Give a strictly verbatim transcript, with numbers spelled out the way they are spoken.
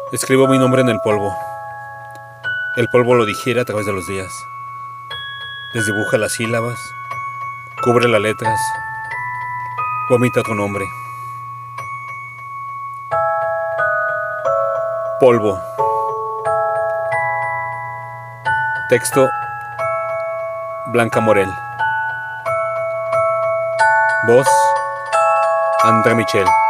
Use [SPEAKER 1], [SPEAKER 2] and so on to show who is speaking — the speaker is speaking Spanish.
[SPEAKER 1] Escribo mi nombre en el polvo. El polvo lo digiere a través de los días. Desdibuja las sílabas, cubre las letras, vomita tu nombre. Polvo. Texto: Blanca Morel. Voz: André Michel.